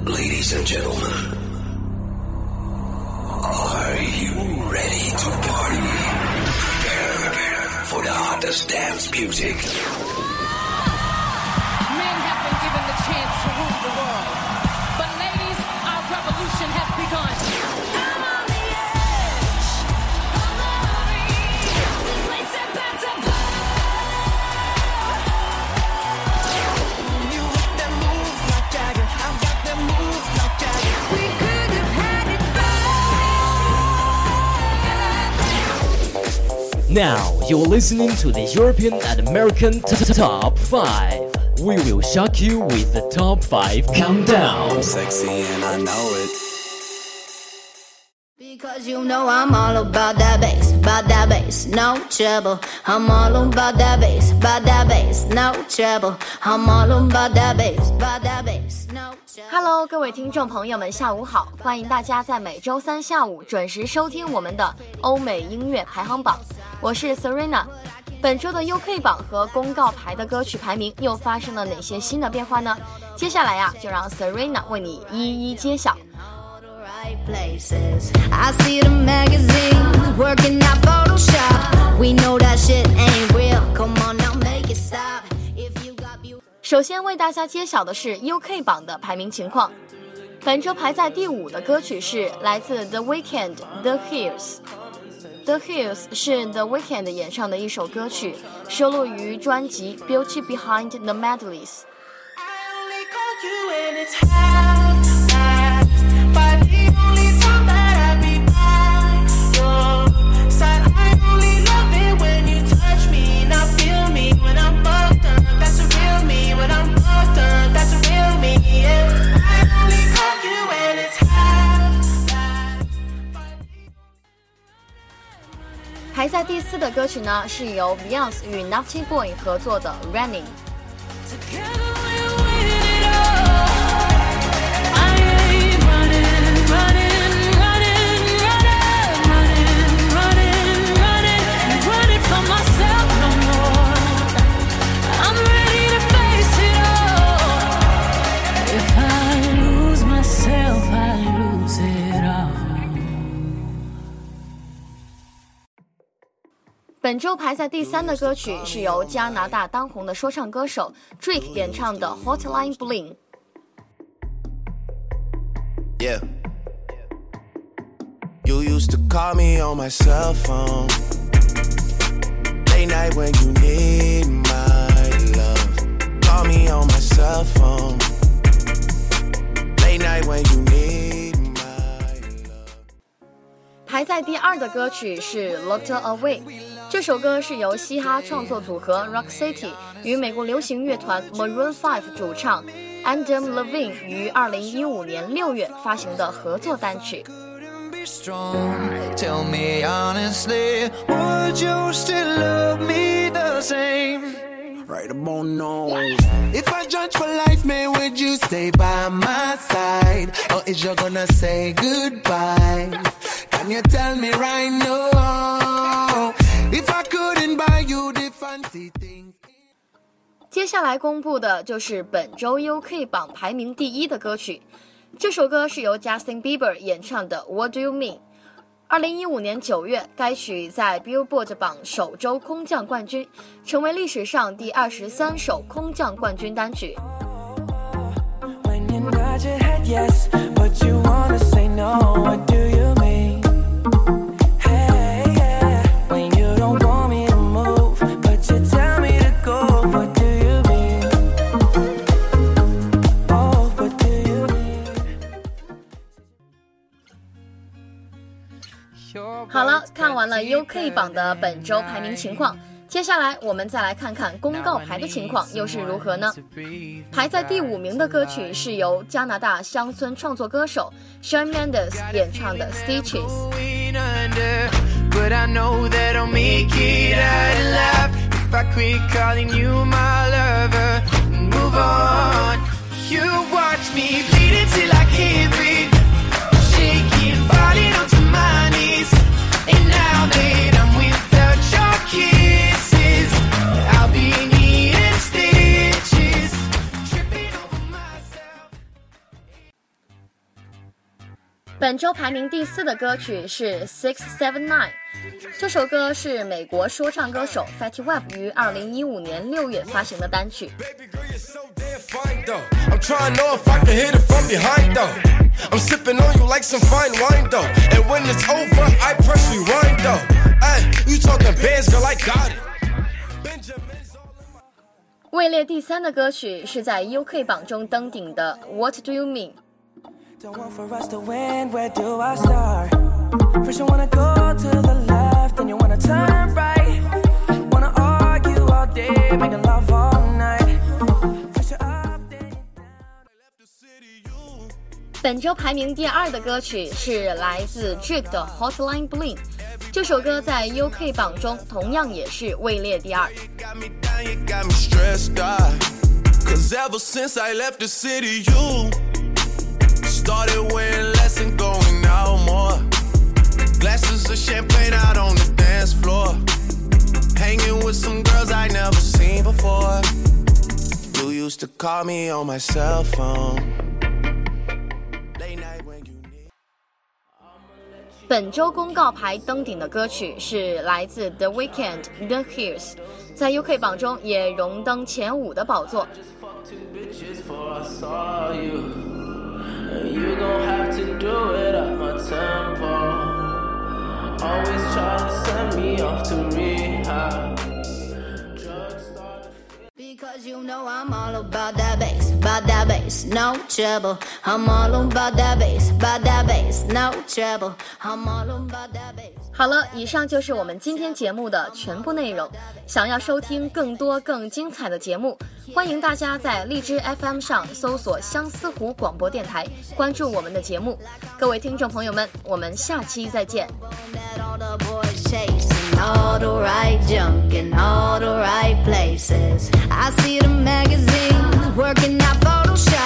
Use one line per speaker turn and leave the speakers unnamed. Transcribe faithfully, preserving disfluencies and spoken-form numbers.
Ladies and gentlemen, are you ready to party? Prepare for the hottest dance music.
Men have been given the chance to rule the world. But ladies, our revolution has begun. I'm on the edge. I'm ready. This place is about to blow.
You got that move like Jagger. I got that move like Jagger.
We could have had it better.
Now you're listening to the European and American t- t- Top five. We will shock you with the Top five Countdown.
I'm sexy and I know it.
Because you know I'm all about that bass, about that bass, no trouble. I'm all about that bass, about that bass, no trouble. I'm all about that bass, about that bass, no trouble.
Hello， 各位听众朋友们，下午好！欢迎大家在每周三下午准时收听我们的欧美音乐排行榜，我是 Serena。本周的 U K 榜和公告牌的歌曲排名又发生了哪些新的变化呢？接下来呀、啊，就让 Serena 为你一一揭晓。
I see the magazines working out Photoshop. We know that shit ain't real. Come on now, make it stop. If you got you.
首先为大家揭晓的是 U K 榜的排名情况。本周排在第五的歌曲是来自 The Weeknd The Hills。The Hills 是 The Weeknd 演唱的一首歌曲，收录于专辑 Beauty Behind the Medleys。排在第四的歌曲呢，是由 Beyonce 与 Naughty Boy 合作的 Running。本周排在第三的歌曲是由加拿大当红的说唱歌手 Drake 演唱的 Hotline Bling。
Yeah. You used to call me on my cell phone late night when you need my love. Call me on my cell phone late night when you need my love.
排在第二的歌曲是 Locked Away。这首歌是由嘻哈创作组合 Rock City 与美国流行乐团 Maroon 五 主唱 Adam Levine 于二零一五年六月发行的合作单曲。
Tell me honestly, would you still love me the same? Right about now. If I judge for life, man, would you stay by my side? Or is you gonna say goodbye? Can you tell me right now?If I couldn't buy you the fancy things.
接下来公布的就是本周 U K 榜排名第一的歌曲，这首歌是由 Justin Bieber 演唱的 What Do You Mean。 二零一五年九月，该曲在 Billboard 榜首周空降冠军，成为历史上第二十三首空降冠军单曲。
When you nod your head yes, but you wanna say no, what do you mean?
好了，看完了 U K 榜的本周排名情况，接下来我们再来看看公告牌的情况又是如何呢？排在第五名的歌曲是由加拿大乡村创作歌手 Shawn Mendes 演唱的 Stitches。But I know that I'll make it out alive if I quit calling you my lover and move on. You watch me bleed until I can't breathe, shaking, falling onto my knees. And now that I'm without your kisses, I'll be needing stitches, tripping over myself.
本周排名第四的歌曲是 Six Seven Nine， 这首歌是美国说唱歌手 Fetty Wap 于二零一五年六月发行的单曲。
I'm trying to know if I can hit it from behind though. I'm sipping on you like some fine wine though. And when it's over, I press rewind though. Ay, you talking bands, girl, I got it.
位列第三的歌曲是在 U K 榜中登顶的 What Do You Mean。Don't want for us to win, where do I start? First you wanna go to the left, then you wanna turn right. Wanna argue all day, making love all night. First you up, then you down. 本周排名第二的歌曲是来自 Drake 的 Hotline Bling， 这首歌在 U K 榜中同样也是位列第二。
Started wearing less and going out more. Glasses of champagne out on the dance floor. Hanging with some girls I never seen before. You used to call me on my cell phone. Late night when you need.
本周公告牌登顶的歌曲是来自 The Weeknd The Hills， 在 U K 榜中也荣登前五的宝座。
You gon' have to do it at my tempo. Always try to send me off to rehab.
Because you know I'm all about that bass, about that bass, no trouble. I'm all about that bass, about that bass, no trouble. I'm all about that bass.
好了，以上就是我们今天节目的全部内容。想要收听更多更精彩的节目，欢迎大家在荔枝 F M 上搜索相思湖广播电台，关注我们的节目。各位听众朋友们，我们下期再见。
All the right junk in all the right places. I see the magazines working out Photoshop.